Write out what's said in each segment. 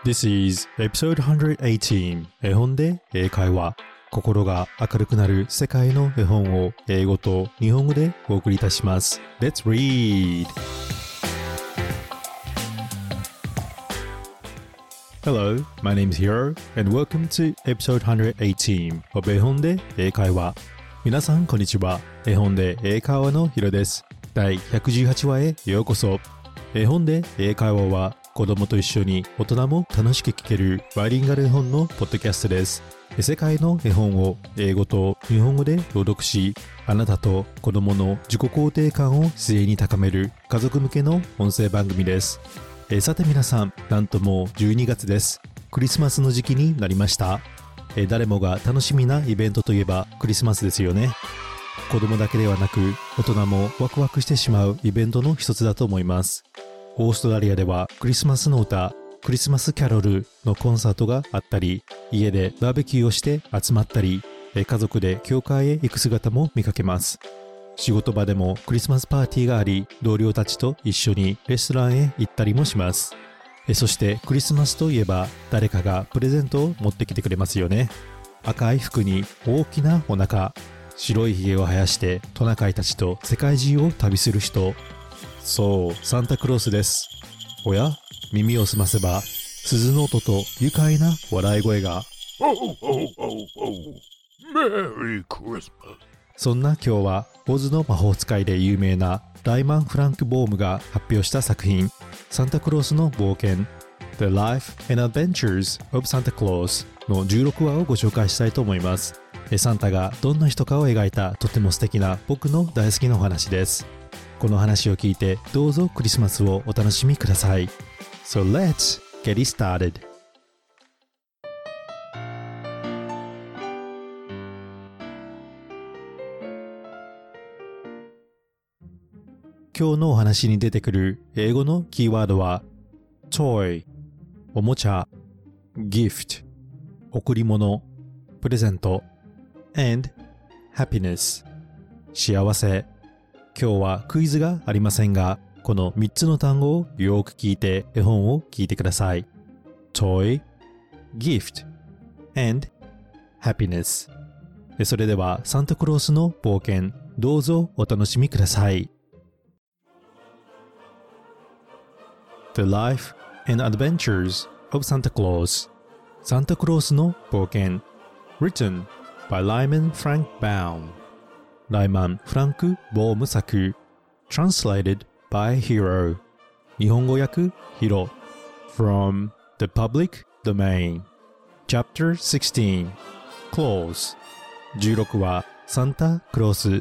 This is episode 118 絵本で英会話。心が明るくなる世界の絵本を英語と日本語でお送りいたします。Let's read! Hello, my name is Hiro and welcome to episode 118 of 絵本で英会話。皆さんこんにちは。絵本で英会話のヒロです。第118話へようこそ。絵本で英会話は子供と一緒に大人も楽しく聞けるバイリンガル絵本のポッドキャストです。世界の絵本を英語と日本語で朗読し、あなたと子供の自己肯定感を自然に高める家族向けの音声番組です。さて皆さん、なんともう12月です。クリスマスの時期になりました。誰もが楽しみなイベントといえばクリスマスですよね。子供だけではなく大人もワクワクしてしまうイベントの一つだと思います。オーストラリアではクリスマスの歌、クリスマスキャロルのコンサートがあったり、家でバーベキューをして集まったり、家族で教会へ行く姿も見かけます。仕事場でもクリスマスパーティーがあり、同僚たちと一緒にレストランへ行ったりもします。そしてクリスマスといえば誰かがプレゼントを持ってきてくれますよね。赤い服に大きなお腹、白いひげを生やしてトナカイたちと世界中を旅する人。そう、サンタクロースです。おや、耳を澄ませば鈴の音と愉快な笑い声が。そんな今日はオズの魔法使いで有名なライマン・フランク・ボームが発表した作品、サンタクロースの冒険 The Life and Adventures of Santa Claus の16話をご紹介したいと思います。サンタがどんな人かを描いたとても素敵な僕の大好きなお話です。この話を聞いてどうぞクリスマスをお楽しみください。So let's get it started. 今日のお話に出てくる英語のキーワードは toy おもちゃ gift 贈り物プレゼント and happiness 幸せ。今日はクイズがありませんが、この3つの単語をよく聞いて絵本を聞いてください。toy, gift, and happiness。それではサンタクロースの冒険、どうぞお楽しみください。The Life and Adventures of Santa Claus サンタクロースの冒険 Written by Lyman Frank Baum ライマン・フランク・ボーム作 Translated by Hiro 日本語訳ヒロ From the Public Domain Chapter 16 Claus 16話サンタクロース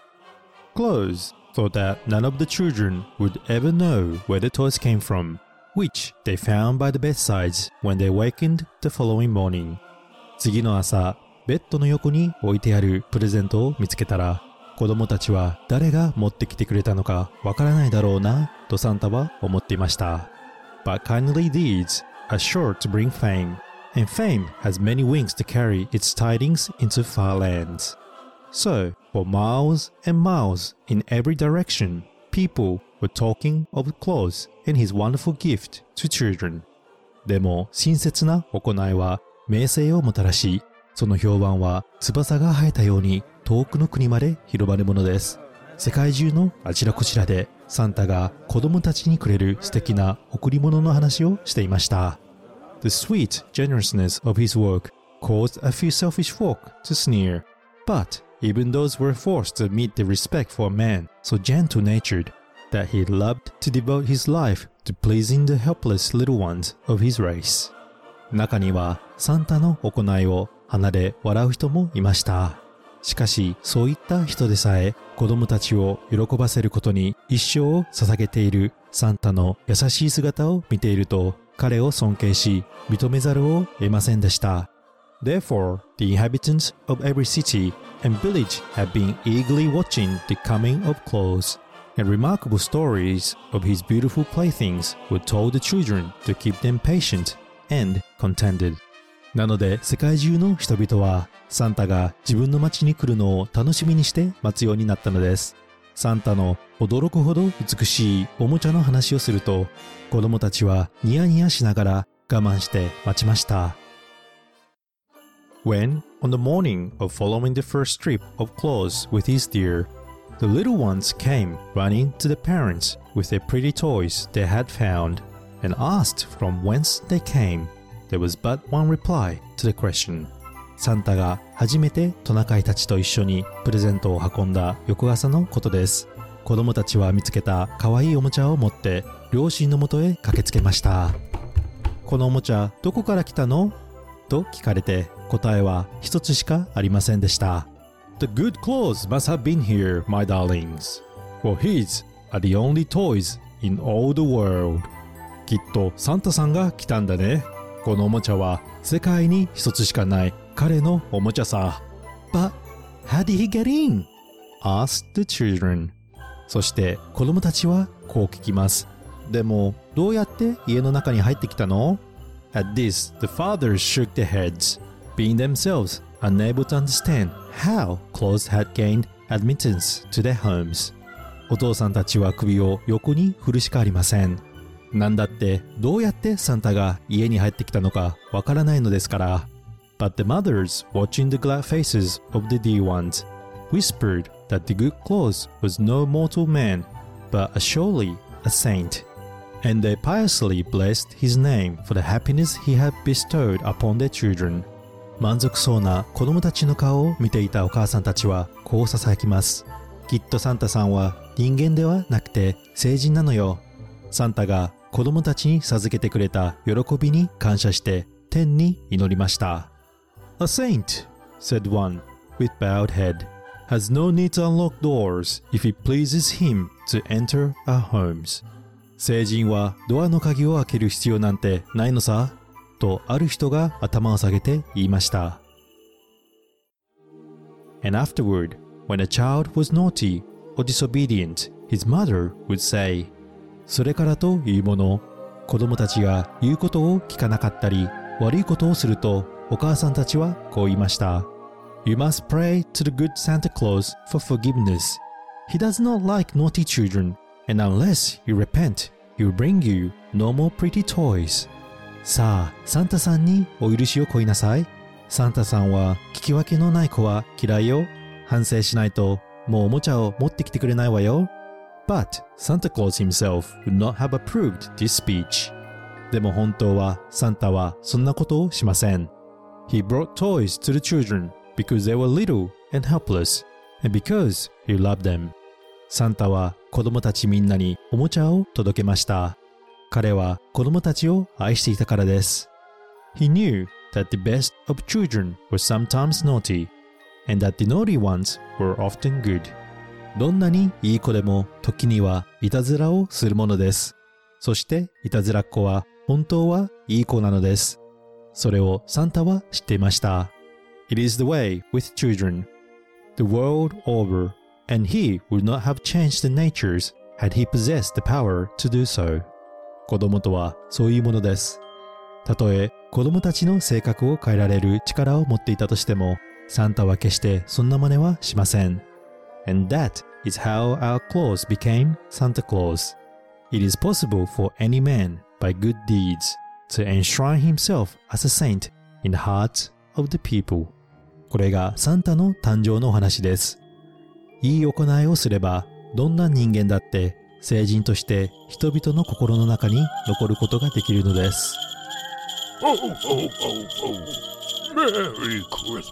Claus thought that none of the children would ever know where the toys came from, which they found by the bedsides when they awakened the following morning. 次の朝、ベッドの横に置いてあるプレゼントを見つけたら、子供たちは誰が持ってきてくれたのかわからないだろうな、とサンタは思っていました。But kindly deeds are sure to bring fame, and fame has many wings to carry its tidings into far lands. So, for miles and miles in every direction, people were talking of Claus and his wonderful gift to children. でも、親切な行いは名声をもたらし、その評判は翼が生えたように遠くの国まで広まるものです。世界中のあちらこちらでサンタが子供たちにくれる素敵な贈り物の話をしていました。The sweet generousness of his work caused a few selfish folk to sneer, but even those were forced to admit the respect for a man so gentle-natured that he loved to devote his life to pleasing the helpless little ones of his race. 中にはサンタの行いを鼻で笑う人もいました。しかしそういった人でさえ子供たちを喜ばせることに一生を捧げているサンタの優しい姿を見ていると彼を尊敬し認めざるを得ませんでした。Therefore, the inhabitants of every city and village have been eagerly watching the coming of Claus, and remarkable stories of his beautiful playthings were told the children to keep them patient and contented. なので世界中の人々はサンタが自分の町に来るのを楽しみにして待つようになったのです。サンタの驚くほど美しいおもちゃの話をすると子供たちはニヤニヤしながら我慢して待ちました。When, on the morning of following the first strip of clothes with his deer, the little ones came running to the parents with their pretty toys they had found and asked from whence they came. There was but one reply to the question. サンタが初めてトナカイたちと一緒にプレゼントを運んだ翌朝のことです。子供たちは見つけた可愛いおもちゃを持って両親のもとへ駆けつけました。このおもちゃどこから来たの？と聞かれて答えは一つしかありませんでした。The good clothes must have been here, my darlings. For his are the only toys in all the world. きっとサンタさんが来たんだね。このおもちゃは世界に一つしかない彼のおもちゃさ。But how did he get in? asked the children. そして子供たちはこう聞きます。でもどうやって家の中に入ってきたの？ At this, the fathers shook their heads, being themselves unable to understand how clothes had gained admittance to their homes. お父さんたちは首を横に振るしかありません。なんだってどうやってサンタが家に入ってきたのかわからないのですから。But the mothers, watching the glad faces of the dear ones, whispered that the good clothes was no mortal man, but surely a saint. And they piously blessed his name for the happiness he had bestowed upon their children. 満足そうな子供たちの顔を見ていたお母さんたちはこう囁きます。きっとサンタさんは人間ではなくて聖人なのよ。サンタが子供たちに授けてくれた喜びに感謝して天に祈りました。A saint, said one, with bowed head, has no need to unlock doors if it pleases him to enter our homes. 聖人はドアの鍵を開ける必要なんてないのさ。とある人が頭を下げて言いました。And afterward, when a child was naughty or disobedient, his mother would say, それからというもの、子供たちが言うことを聞かなかったり、悪いことをすると、お母さんたちはこう言いました。You must pray to the good Santa Claus for forgiveness. He does not like naughty children, and unless you repent, he will bring you no more pretty toys. さあ、サンタさんにお許しを請いなさい。サンタさんは聞き分けのない子は嫌いよ。反省しないと、もうおもちゃを持ってきてくれないわよ。But Santa Claus himself would not have approved this speech. でも本当はサンタはそんなことをしません。He brought toys to the children because they were little and helpless, and because he loved them. サンタは子供たちみんなにおもちゃを届けました。彼は子供たちを愛していたからです。He knew that the best of children were sometimes naughty, and that the naughty ones were often good. どんなにいい子でも時にはいたずらをするものです。そしていたずらっ子は本当はいい子なのです。それをサンタは知っていました。It is the way with children, the world over, and he would not have changed the natures had he possessed the power to do so. 子供とはそういうものです。たとえ子供たちの性格を変えられる力を持っていたとしても、サンタは決してそんな真似はしません。And that is how our Claus became Santa Claus. It is possible for any man by good deeds to enshrine himself as a saint in the hearts of the people. これがサンタの誕生のお話です。いい行いをすれば、どんな人間だって聖人として人々の心の中に残ることができるのです。 Oh, oh, oh, oh. Merry Christmas.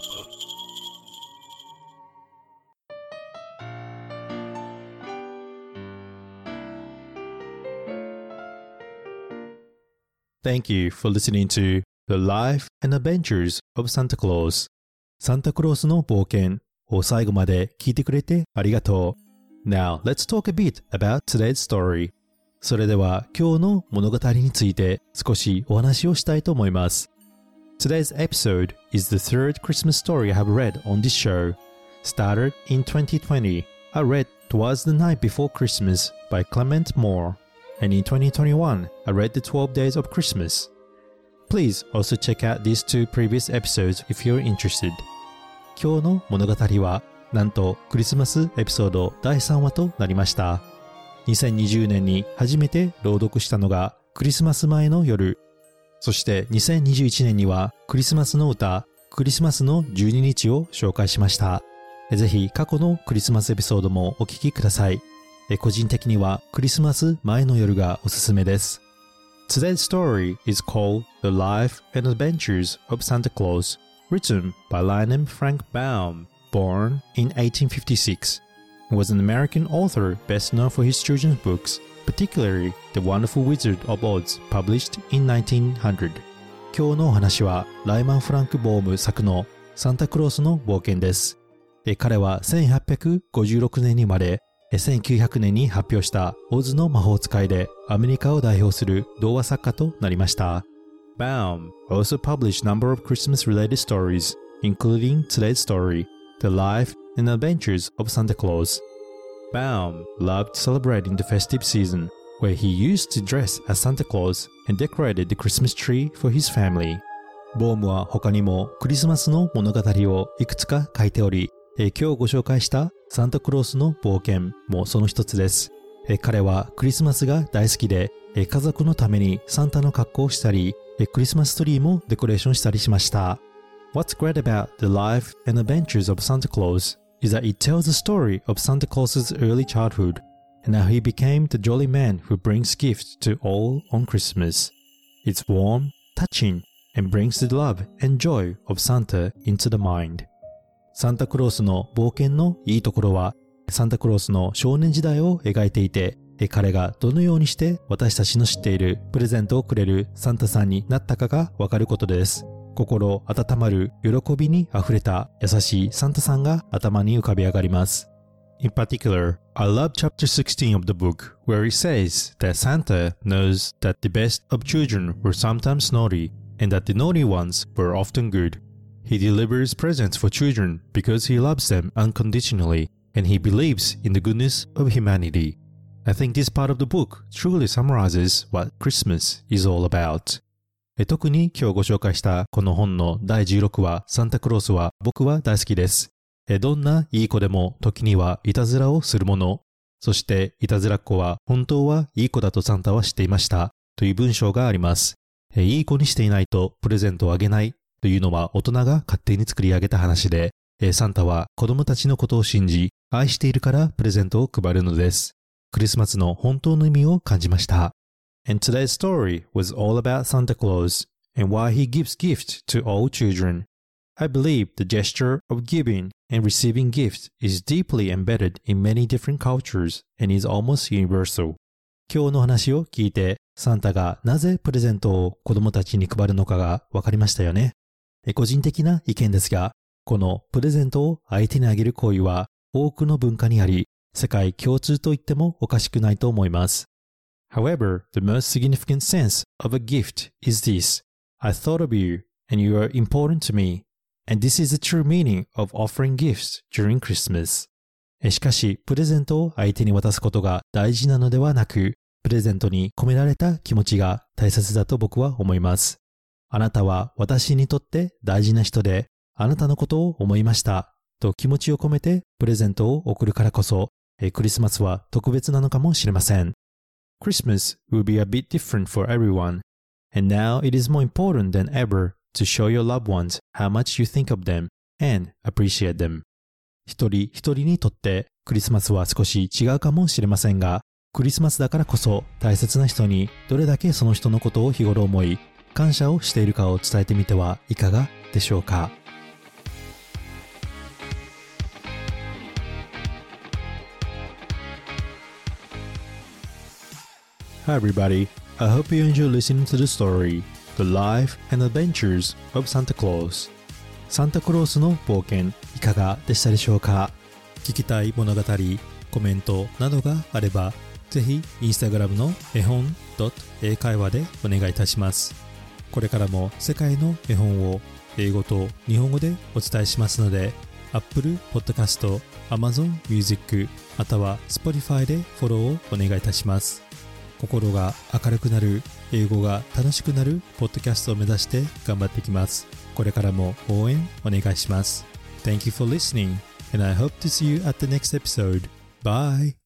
Thank you for listening to The Life and Adventures of Santa Claus. サンタクロースの冒険を最後まで聞いてくれてありがとう。Now, let's talk a bit about today's story. それでは今日の物語について少しお話をしたいと思います。Today's episode is the third Christmas story I have read on this show. Started in 2020, I read Twas the Night Before Christmas by Clement Moore.And in 2021, I read The 12 Days of Christmas. Please also check out these two previous episodes if you're interested. 今日の物語は、なんとクリスマスエピソード第3話となりました。2020年に初めて朗読したのがクリスマス前の夜。 そして2021年にはクリスマスの歌、クリスマスの12日を紹介しました。ぜひ過去のクリスマスエピソードもお聞きください。個人的にはクリスマス前の夜がおすすめです。Today's story is called The Life and Adventures of Santa Claus, written by Lionel Frank Baum, born in 1856. He was an American author best known for his children's books, particularly The Wonderful Wizard of Oz, published in 1900. 今日のお話はライマン・フランク・ボーム作のサンタクロースの冒険です。彼は1856年に生まれ、1900年に発表したオズの魔法使いでアメリカを代表する童話作家となりました。Baum also published a number of Christmas-related stories, including today's story, The Life and Adventures of Santa Claus. Baum loved celebrating the festive season, where he used to dress as Santa Claus and decorated the Christmas tree for his family. ボームは他にもクリスマスの物語をいくつか書いており、今日ご紹介したサンタクロースの冒険もその一つです。彼はクリスマスが大好きで、家族のためにサンタの格好をしたり、クリスマスツリーもデコレーションしたりしました。What's great about the life and adventures of Santa Claus is that it tells the story of Santa Claus's early childhood and how he became the jolly man who brings gifts to all on Christmas. It's warm, touching, and brings the love and joy of Santa into the mind. サンタクロースの冒険のいいところは、サンタクロースの少年時代を描いていて、彼がどのようにして私たちの知っているプレゼントをくれるサンタさんになったかがわかることです。心温まる喜びにあふれた優しいサンタさんが頭に浮かび上がります。In particular, I love chapter 16 of the book, where it says that Santa knows that the best of children were sometimes naughty, and that the naughty ones were often good.He delivers presents for children because he loves them unconditionally and he believes in the goodness of humanity. I think this part of the book truly summarizes what Christmas is all about. 特に今日ご紹介したこの本の第16話サンタクロースは僕は大好きです。どんないい子でも時にはいたずらをするもの、そしていたずらっ子は本当はいい子だとサンタは知っていましたという文章があります。いい子にしていないとプレゼントをあげないというのは大人が勝手に作り上げた話で、サンタは子供たちのことを信じ、愛しているからプレゼントを配るのです。クリスマスの本当の意味を感じました。And today's story was all about Santa Claus and why he gives gifts to all children. I believe the gesture of giving and receiving gifts is deeply embedded in many different cultures and is almost universal. 今日の話を聞いて、サンタがなぜプレゼントを子供たちに配るのかがわかりましたよね。個人的な意見ですが、このプレゼントを相手にあげる行為は多くの文化にあり、世界共通と言ってもおかしくないと思います。However, the most significant sense of a gift is this. I thought of you, and you are important to me. And this is the true meaning of offering gifts during Christmas. しかし、プレゼントを相手に渡すことが大事なのではなく、プレゼントに込められた気持ちが大切だと僕は思います。あなたは私にとって大事な人で、あなたのことを思いましたと気持ちを込めてプレゼントを贈るからこそ、クリスマスは特別なのかもしれません。Christmas will be a bit different for everyone, and now it is more important than ever to show your loved ones how much you think of them and appreciate them. 一人一人にとってクリスマスは少し違うかもしれませんが、クリスマスだからこそ大切な人にどれだけその人のことを日頃思い、感謝をしているかを伝えてみてはいかがでしょうか。Hi everybody, I hope you enjoy listening to the story, The Life and Adventures of Santa Claus. サンタクロースの冒険いかがでしたでしょうか。聞きたい物語、コメントなどがあれば、ぜひインスタグラムの絵本英会話でお願いいたします。これからも世界の絵本を英語と日本語でお伝えしますので、Apple Podcast、Amazon Music または Spotify でフォローをお願いいたします。心が明るくなる、英語が楽しくなるポッドキャストを目指して頑張っていきます。これからも応援お願いします。Thank you for listening, and I hope to see you at the next episode. Bye!